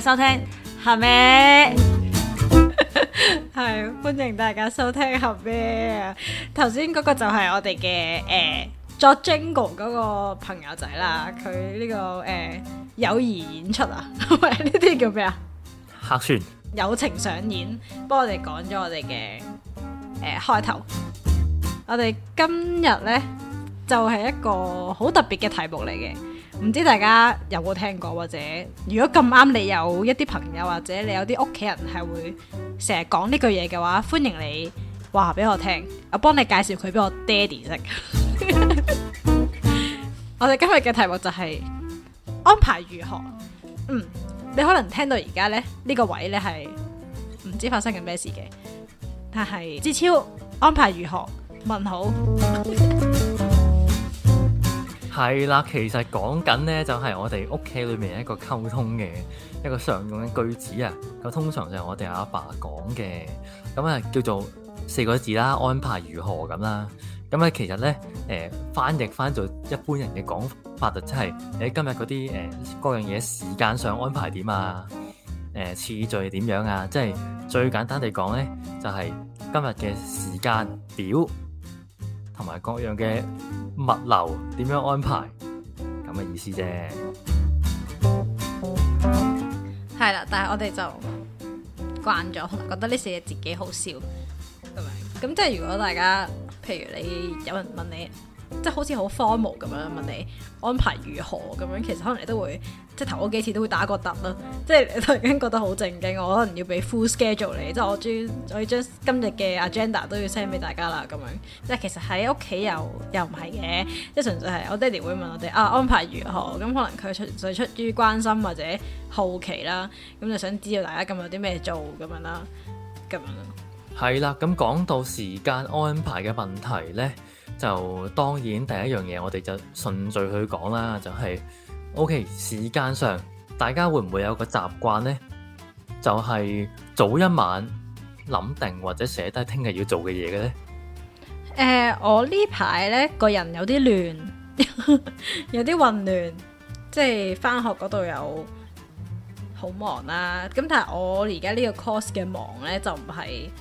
收聽合咩？係歡迎大家收聽合咩啊！頭先嗰個就係我哋嘅作 Jingle 嗰個朋友仔啦，佢呢、這個友誼演出啊，喂呢啲叫咩啊？ 客串友情上演，幫我哋講咗我哋嘅開頭。我哋今日呢，就係、是、一個好特別嘅題目嚟嘅，唔知大家有冇聽過，或者如果咁啱你有一啲朋友或者你有啲屋企人係會成日講呢句嘢嘅話，歡迎你話俾我聽，我幫你介紹佢俾我爹哋識。我哋今日嘅題目就係安排如何。你可能聽到而家呢，呢個位呢係唔知發生緊咩事嘅，但係志超安排如何？問好。 係啦，其實講緊呢，就係我哋屋企裏面一個溝通嘅一個常用嘅句子啊。咁通常就係我哋阿爸講嘅，咁啊叫做4個字啦，安排如何咁啦。咁啊其實呢，翻譯翻做一般人嘅講法就即係你今日嗰啲各樣嘢時間上安排點啊，次序點樣啊，即係最簡單地講呢，就係今日嘅時間表同埋各樣嘅物流點樣安排咁嘅意思啫。 係啦，但係我哋就慣咗，同埋覺得呢4個字幾好笑咁樣。咁即係如果大家，譬如你有人問你，即係好似好荒謬咁樣問你安排如何咁樣，其實可能你都會即係頭嗰幾次都會打個突啦。即係你突然間覺得好正經，我可能要俾 full schedule 你，即係我要將今日嘅 agenda 都要 send 俾大家啦咁樣。即係其實喺屋企又唔係嘅，即係純粹係我爹哋會問我哋安排如何，咁可能佢純粹出於關心或者好奇啦，咁就想知道大家今日有啲咩做咁樣啦，咁樣。 係啦，咁講到時間安排嘅問題呢，就當然第一樣嘢我哋就順序去講啦，就係 OK 時間上大家會唔會有個習慣呢？就係早一晚諗定或者寫低聽日要做嘅嘢嘅呢？ 我呢排呢個人有啲亂，有啲混亂，即係返學嗰度有好忙啦。咁但係我而家呢個 course 嘅忙呢，就唔係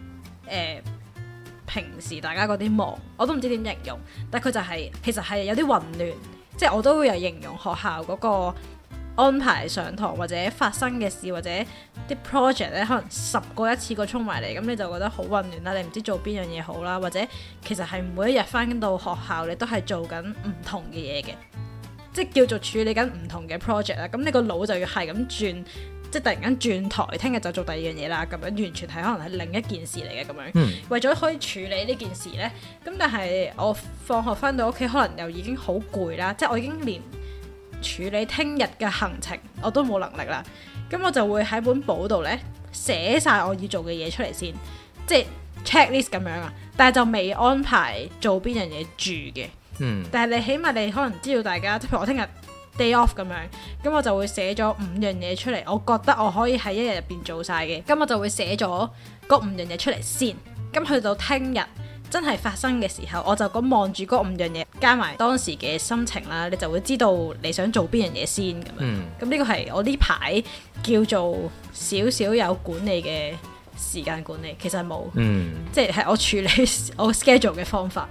平時大家嗰啲忙，我都唔知點形容，但佢就係其實係有啲混亂，即係我都會有形容學校嗰個安排上堂或者發生嘅事或者啲 project 咧，可能10個一次過衝埋嚟，咁你就覺得好混亂啦，你唔知做邊樣嘢好啦，或者其實係每一日返到學校你都係做緊唔同嘅嘢嘅，即係叫做處理緊唔同嘅 project 啦，咁你個腦就要係咁轉。即係突然間轉台，聽日就做第二樣嘢啦，咁樣完全係可能係另一件事嚟嘅咁樣。為咗可以處理呢件事呢，咁但係我放學翻到屋企，可能又已經好攰啦，即係我已經連處理聽日嘅行程我都冇能力啦。咁我就會喺本簿度呢寫晒我要做嘅嘢出嚟先，即係 checklist 咁樣啊。但係就未安排做邊樣嘢住嘅。但係你起碼你可能知道大家，即係譬如我聽日day off 咁樣，咁我就會寫咗5樣嘢出嚟，我覺得我可以喺一日入邊做晒嘅，咁我就會寫咗嗰5樣嘢出嚟先，咁去到聽日真係發生嘅時候，我就咁望住嗰5樣嘢，加埋當時嘅心情啦，你就會知道你想做邊樣嘢先咁樣。咁呢個係我呢排叫做少少有管理嘅時間管理，其實冇，即係我處理我 schedule 嘅方法。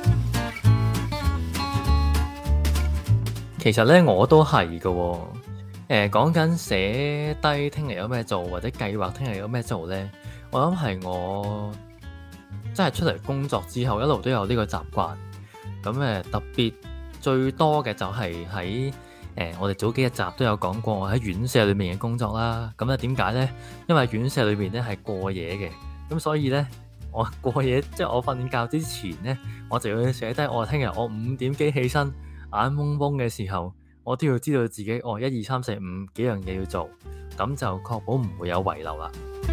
其實咧我都係嘅，講緊寫低聽日有咩做或者計劃聽日有咩做呢？我諗係我真係出嚟工作之後一路都有呢個習慣。咁特別最多嘅就係喺我哋早幾集都有講過我喺院舍裏面嘅工作啦。咁咧點解呢？因為院舍裏面咧係過夜嘅，咁所以呢，我過夜即係我瞓覺之前呢，我就要寫低我聽日我5點幾起身。眼蒙蒙嘅時候，我都要知道自己1、2、3、4、5幾樣嘢要做，咁就確保唔會有遺漏啦。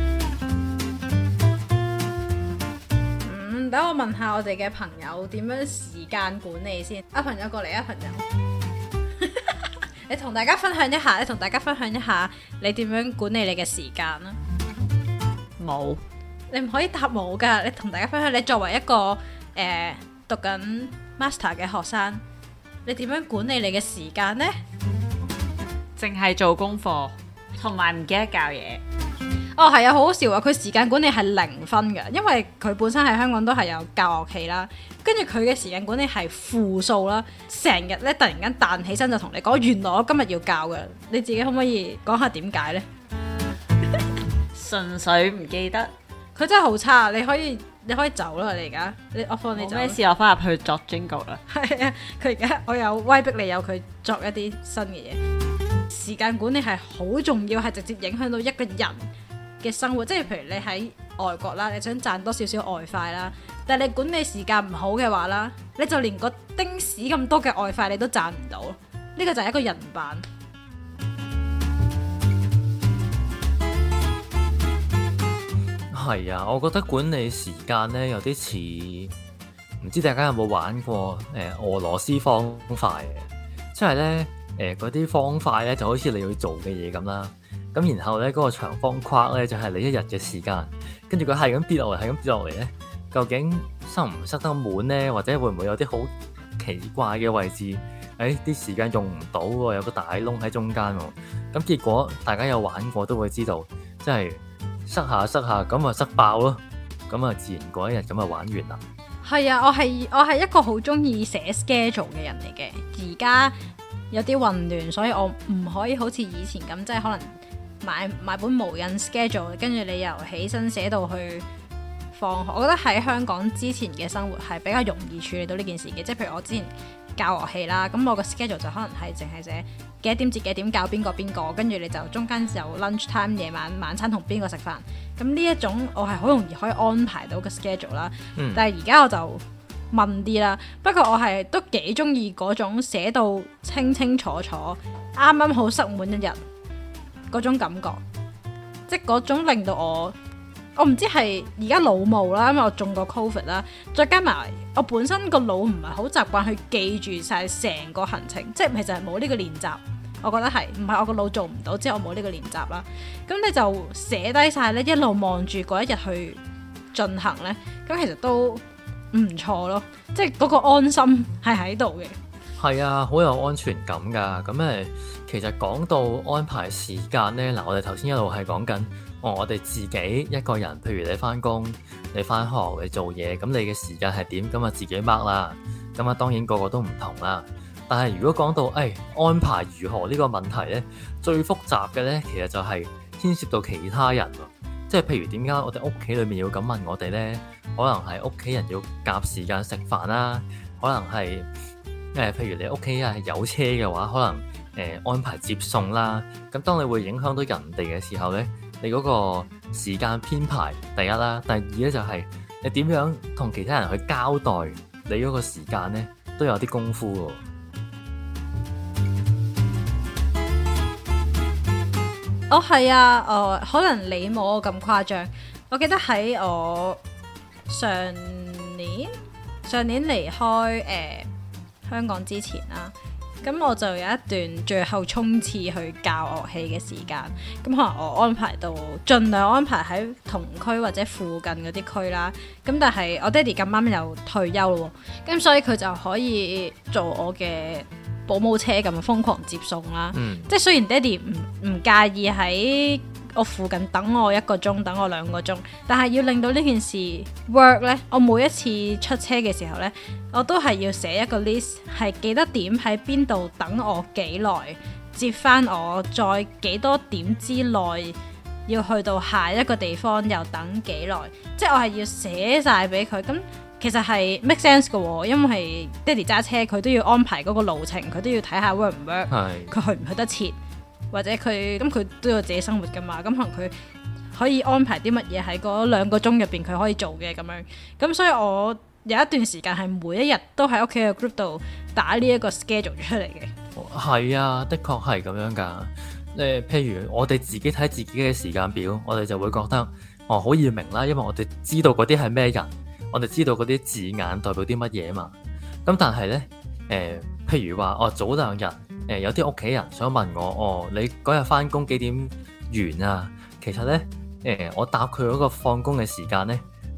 等我問下我哋嘅朋友點樣時間管理先。朋友過嚟朋友，你同大家分享一下，你點樣管理你嘅時間啦？冇，你唔可以答冇噶。你同大家分享，你作為一個讀緊 master 嘅學生。你點樣管理你嘅時間呢？ 淨係做功課， 同埋唔記得教嘢。 哦，係啊，好好笑啊！佢時間管理係0分㗎，因為佢本身喺香港都係有教樂器啦，跟住佢嘅時間管理係負數啦，成日咧突然間彈起身就同你講，原來我今日要教嘅，你自己可唔可以講下點解呢？ 純粹唔記得， 佢真係好差，你可以走啦，你而家我放你走。 咩事？我翻入去作 jingle 啦。 係啊，我有威逼你有佢作一啲新嘅嘢。時間管理係好重要，係直接影響到一個人嘅生活，即係譬如你喺外國啦，你想賺多少少外快啦，但係你管理時間唔好嘅話啦，你就連個丁屎咁多嘅外快你都賺唔到，呢個就係一個人版。 係啊，我覺得管理時間呢有啲似，唔知大家有冇玩過俄羅斯方塊嘅，即係呢嗰啲方塊呢就好似你要做嘅嘢咁啦。咁然後咧，嗰個長方框咧就係你一日嘅時間，跟住佢係咁跌落嚟，係咁跌落嚟咧，究竟塞唔塞得滿咧？或者會唔會有啲好奇怪嘅位置？啲時間用唔到喎，有個大窿喺中間喎。咁結果大家有玩過都會知道，即係塞下咁啊塞爆咯，咁啊自然嗰一日咁啊玩完啦。 係啊，我係一個好中意寫 schedule 嘅人嚟嘅，而家有啲混亂，所以我唔可以好似以前咁，即係可能。買本無印 schedule， 跟住你由起身寫到去放學。我覺得喺香港之前嘅生活係比較容易處理到呢件事嘅，即係譬如我之前教樂器啦，咁我個 schedule 就可能係淨係寫幾多點至幾點教邊個，跟住你就中間有 lunch time 夜晚餐同邊個食飯。咁呢一種我係好容易可以安排到個 schedule 啦。但係而家我就問啲啦，不過我係都幾中意嗰種寫到清清楚楚，啱啱好塞滿一日。嗰種感覺，即係嗰種令到我唔知係而家腦霧啦，因為我中過 COVID 啦，再加埋我本身個腦唔係好習慣去記住晒成個行程，即係其實係冇呢個練習，我覺得係唔係我個腦做唔到，之後我冇呢個練習啦。咁你就寫低晒咧，一路望住嗰一日去進行咧，咁其實都唔錯咯，即係嗰個安心係喺度嘅。 係啊，好有安全感㗎。咁其實講到安排時間呢，嗱，我哋頭先一路係講緊，我哋自己一個人，譬如你返工、你返學、你做嘢，咁你嘅時間係點？咁啊自己 mark 啦。咁啊當然個個都唔同啦。但係如果講到安排如何呢個問題呢，最複雜嘅呢，其實就係牽涉到其他人喎。即係譬如點解我哋屋企裏面要咁問我哋呢？可能係屋企人要夾時間食飯啦，可能係譬如你屋企係有車嘅話，可能安排接送啦。咁當你會影響到人哋嘅時候呢，你嗰個時間編排第一啦，第二呢就係你點樣同其他人去交代你嗰個時間呢，都有啲功夫喎。 係啊，可能你冇我咁誇張。我記得喺我上年離開香港之前啦，咁我就有一段最後衝刺去教樂器嘅時間。咁可能我安排到盡量安排喺同區或者附近嗰啲區啦。咁但係我爹哋咁啱又退休咯，咁所以佢就可以做我嘅保姆車咁瘋狂接送啦。即係雖然爹哋唔介意喺我附近等我1個鐘，等我2個鐘，但係要令到呢件事 work 呢，我每一次出車嘅時候呢，我都係要寫一個 list， 係幾多點喺邊度等我幾耐，接翻我再幾多點之內要去到下一個地方又等幾耐，即係我係要寫晒俾佢。咁其實係 make sense 嘅喎，因為爹哋揸車佢都要安排嗰個路程，佢都要睇下 work 唔 work，佢去唔去得切。或者佢都有自己生活噶嘛，咁可能佢可以安排啲乜嘢喺嗰2個鐘入邊佢可以做嘅咁樣，咁所以我有一段時間係每一日都喺屋企嘅 group 度打呢一個 schedule 出嚟嘅。 係啊，的確係咁樣噶。譬如我哋自己睇自己嘅時間表，我哋就會覺得好易明啦，因為我哋知道嗰啲係咩人，我哋知道嗰啲字眼代表啲乜嘢嘛。咁但係呢，譬如話早2日。有啲屋企人想問我，你嗰日返工幾點完啊？其實呢，我答佢嗰個放工嘅時間呢，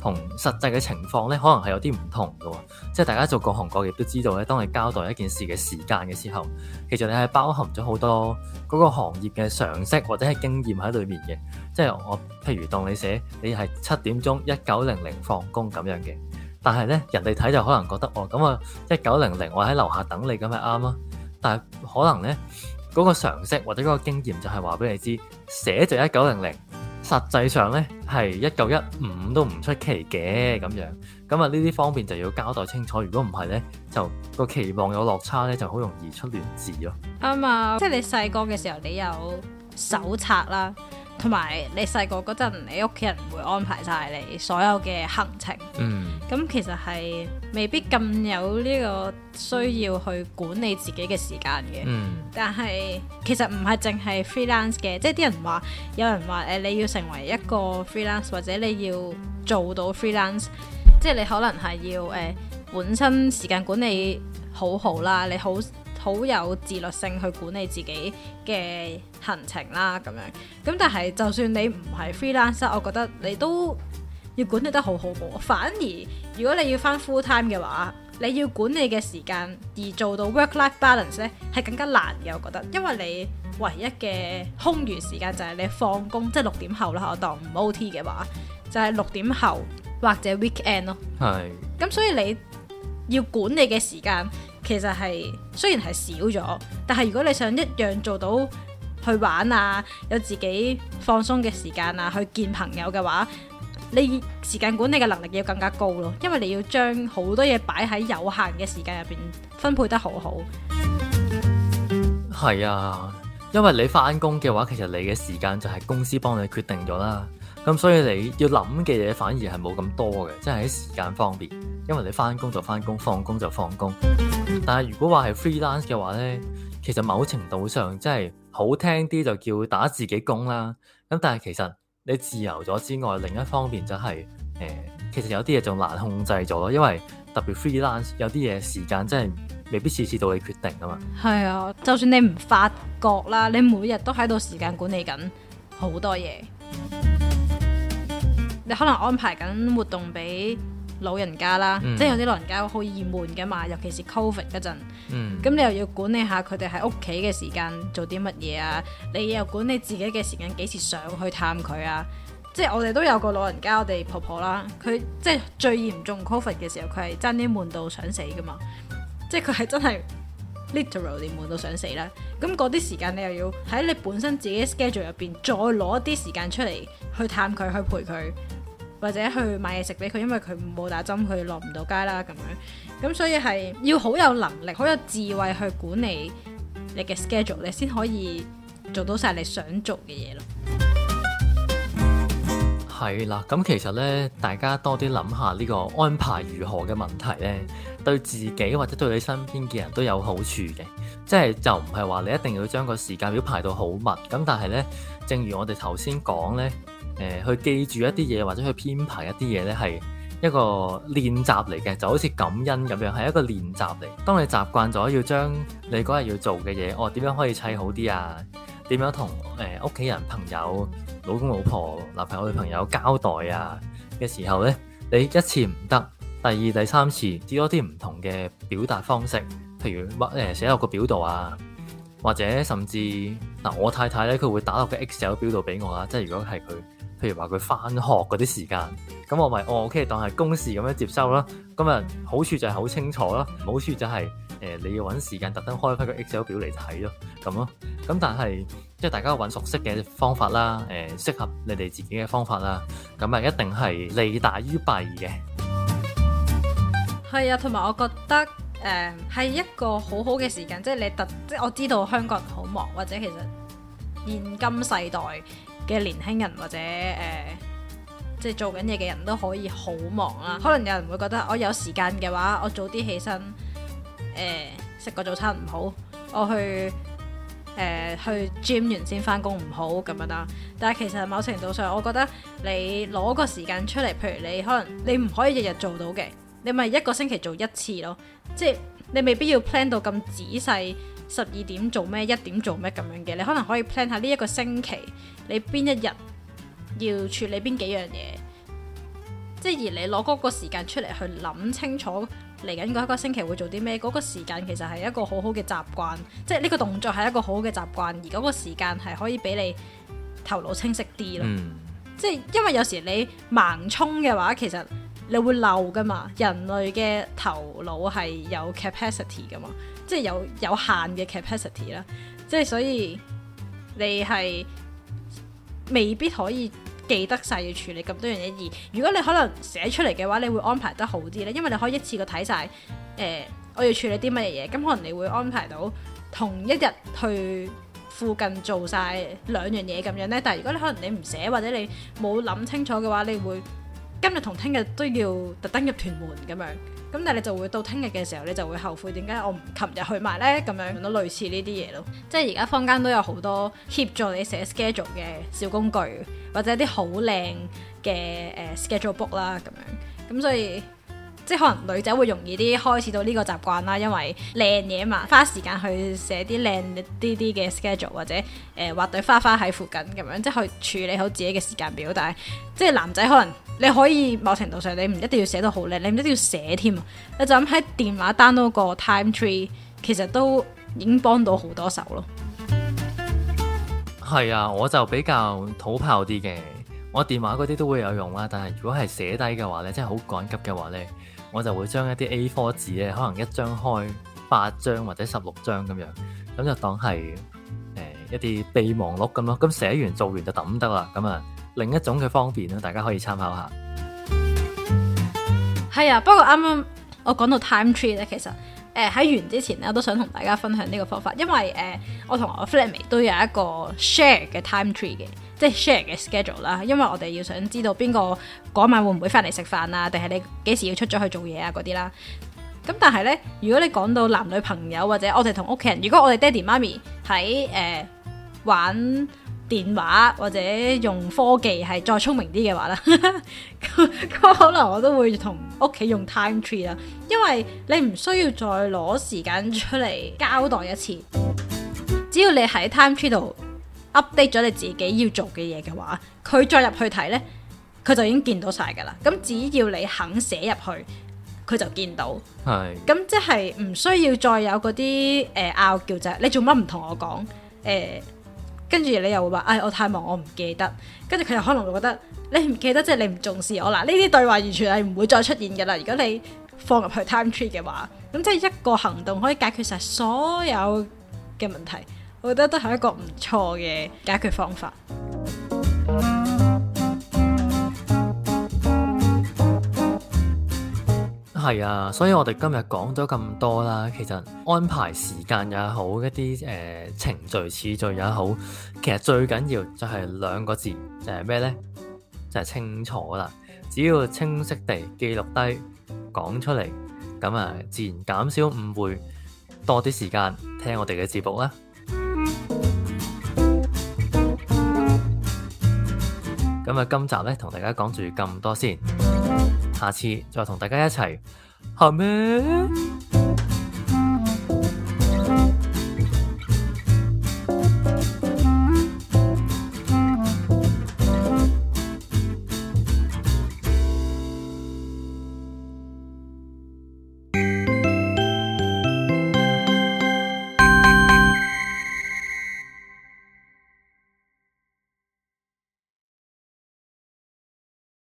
同實際嘅情況咧，可能係有啲唔同嘅喎。即係大家做各行各業都知道咧，當你交代一件事嘅時間嘅時候，其實你係包含咗好多嗰個行業嘅常識或者係經驗喺裏面嘅。即係我譬如當你寫你係7點鐘19:00放工咁樣嘅，但係咧人哋睇就可能覺得咁啊19:00我喺樓下等你咁咪啱咯。但係可能咧嗰個常識或者嗰個經驗就係話俾你知，寫就19:00。實際上咧係1915都唔出奇嘅咁樣，咁啊呢啲方面就要交代清楚。如果唔係咧，就個期望有落差咧，就好容易出亂子咯。 啱啊，即係你細個嘅時候，你有手冊啦，同埋你細個嗰陣，你屋企人會安排晒你所有嘅行程。咁其實係未必咁有呢個需要去管理自己嘅時間嘅。但係其實唔係淨係 freelance 嘅，即係啲人話，有人話你要成為一個 freelance 或者你要做到 freelance， 即係你可能係要本身時間管理好好啦，你好有自律性去管理自己嘅行程啦咁樣。咁但係就算你唔係 freelance， 我覺得你都要管理得好好喎。反而如果你要返 full time 嘅話，你要管理嘅時間而做到 work-life balance 咧，係更加難嘅。我覺得，因為你唯一嘅空餘時間就係你放工，即係6點後啦。我當唔 OT 嘅話，就係6點後或者 weekend 咯。係。咁所以你要管理嘅時間其實係雖然係少咗，但係如果你想一樣做到去玩啊，有自己放鬆嘅時間啊，去見朋友嘅話，你時間管理嘅能力要更加高咯，因為你要將好多嘢擺喺有限嘅時間入邊分配得好好。 係啊，因為你返工嘅話，其實你嘅時間就係公司幫你決定咗啦。咁所以你要諗嘅嘢反而係冇咁多嘅，即係喺時間方面。因為你返工就返工，放工就放工。但係如果話係 freelance 嘅話呢，其實某程度上即係好聽啲就叫打自己工啦。咁但係其實你自由咗之外，另一方面就係其實有啲嘢就難控制咗咯。因為特別 freelance 有啲嘢時間真係未必次次到你決定㗎嘛。係啊，就算你唔發覺啦，你每日都喺度時間管理緊好多嘢。你可能安排緊活動俾老人家啦，即係有啲老人家好易悶㗎嘛，尤其是 Covid 嗰陣。咁你又要管理下佢哋喺屋企嘅時間做啲乜嘢啊？你又管理自己嘅時間幾時上去探佢啊？即係我哋都有個老人家，我哋婆婆啦，佢即係最嚴重 Covid 嘅時候，佢係爭啲悶到想死㗎嘛。即係佢係真係 literally 悶到想死啦。咁嗰啲時間你又要喺你本身自己 schedule 入邊再攞一啲時間出嚟去探佢，去陪佢，或者去買嘢食俾佢，因為佢冇打針，佢落唔到街啦咁樣。咁所以係要好有能力、好有智慧去管理你嘅 schedule， 你先可以做到晒你想做嘅嘢咯。 係啦，咁其實呢，大家多啲諗下呢個安排如何嘅問題呢，對自己或者對你身邊嘅人都有好處嘅。即係就唔係話你一定要將個時間表排到好密，咁但係呢，正如我哋頭先講呢，去記住一啲嘢或者去編排一啲嘢呢，係一個練習嚟嘅，就好似感恩咁樣，係一個練習嚟。當你習慣咗要將你嗰日要做嘅嘢，點樣可以砌好啲啊？點樣同屋企人、朋友、老公、老婆、男朋友、女朋友交代啊嘅時候呢，你一次唔得，第二、第三次試多啲唔同嘅表達方式，譬如寫落個表度啊，或者甚至我太太呢，佢會打落個 Excel 表度俾我啦。即係如果係佢，譬如話佢返學嗰啲時間，咁我咪OK 當係公事咁樣接收啦。咁啊好處就係好清楚啦，唔好處就係你要揾時間特登開返個 Excel 表嚟睇咯，咁咯。咁但係即係大家揾熟悉嘅方法啦，適合你哋自己嘅方法啦，咁啊一定係利大於弊嘅。 係啊，同埋我覺得係一個好好嘅時間，即係即係我知道香港人好忙，或者其實現今世代嘅年輕人或者即係做緊嘢嘅人都可以好忙啦。可能有人會覺得我有時間嘅話，我早啲起身食個早餐唔好，我去 gym 完先返工唔好咁樣啦。但係其實某程度上，我覺得你攞個時間出嚟，譬如你可能你唔可以日日做到嘅，你咪一個星期做一次咯。即係你未必要 plan 到咁仔細，12點做咩，1點做咩咁樣嘅。你可能可以 plan 下呢一個星期你邊一日要處理邊幾樣嘢， 即係而你攞嗰個時間出嚟去諗清楚嚟緊嗰一個星期會做啲咩，嗰個時間其實係一個好好嘅習慣，即係呢個動作係一個好好嘅習慣，而嗰個時間係可以俾你頭腦清晰啲咯。即係因為有時你盲衝嘅話，其實你會漏噶嘛。人類嘅頭腦係有 capacity 噶嘛，即係有限嘅 capacity 啦。即係所以你係未必可以記得晒要處理咁多樣嘢，而如果你可能寫出嚟嘅話，你會安排得好啲咧，因為你可以一次過睇晒我要處理啲乜嘢，咁可能你會安排到同一日去附近做晒兩樣嘢咁樣呢。但係如果你可能你唔寫或者你冇諗清楚嘅話，你會今日同聽日都要特登入屯門咁樣，咁但係你就會到聽日嘅時候，你就會後悔點解我唔琴日去埋呢？咁樣都類似呢啲嘢咯。即係而家坊間都有好多協助你寫 schedule 嘅小工具，或者啲好靚嘅schedule book 啦咁樣。咁所以即係可能女仔會容易啲開始到呢個習慣啦，因為靚嘢嘛，花時間去寫啲靚啲嘅 schedule， 或者畫對花花喺附近咁樣，即係去處理好自己嘅時間表。但係即係男仔可能你可以某程度上你唔一定要寫到好靚，你唔一定要寫添，你就咁喺電話 download個 time tree， 其實都已經幫到好多手咯。 係啊，我就比較土炮啲嘅，我電話嗰啲都會有用啦。但係如果係寫低嘅話咧，即係好趕急嘅話咧，我就會將一啲 A4 紙咧，可能一張開8張或者16張咁樣，咁就當係一啲備忘錄咁咯。咁寫完做完就抌得啦。咁啊，另一種嘅方便啦，大家可以參考下。係啊，不過啱啱我講到 time tree 咧，其實喺完之前咧，我都想同大家分享呢個方法，因為我同我 flatmate 都有一個 share 嘅 time tree 嘅。即係 share 嘅 schedule 啦，因為我哋要想知道邊個嗰晚會唔會翻嚟食飯啊，定係你幾時要出咗去做嘢啊嗰啲啦。咁但係呢，如果你講到男女朋友或者我哋同屋企人，如果我哋爹哋媽咪喺玩電話或者用科技係再聰明啲嘅話啦，咁可能我都會同屋企用 time tree 啦，因為你唔需要再攞時間出嚟交代一次，只要你喺 time tree 度update 咗你自己要做嘅嘢嘅話，佢再入去睇呢，佢就已經見到晒噶啦。咁只要你肯寫入去，佢就見到。係。咁即係唔需要再有嗰啲拗撬啫。你做乜唔同我講？跟住你又會話，我太忙，我唔記得。跟住佢又可能會覺得你唔記得，即係你唔重視我啦。呢啲對話完全係唔會再出現噶啦。如果你放入去 time tree 嘅話，咁即係一個行動可以解決晒所有嘅問題。我覺得都係一個唔錯嘅解決方法。 係啊，所以我哋今日講咗咁多啦，其實安排時間也好，一啲程序次序也好，其實最緊要就係2個字，就係咩呢？就係清楚啦。只要清晰地記錄低，講出嚟，咁啊，自然減少誤會，多啲時間聽我哋嘅節目啦。咁啊，今集咧同大家講住咁多先，下次再同大家一齊，好咩？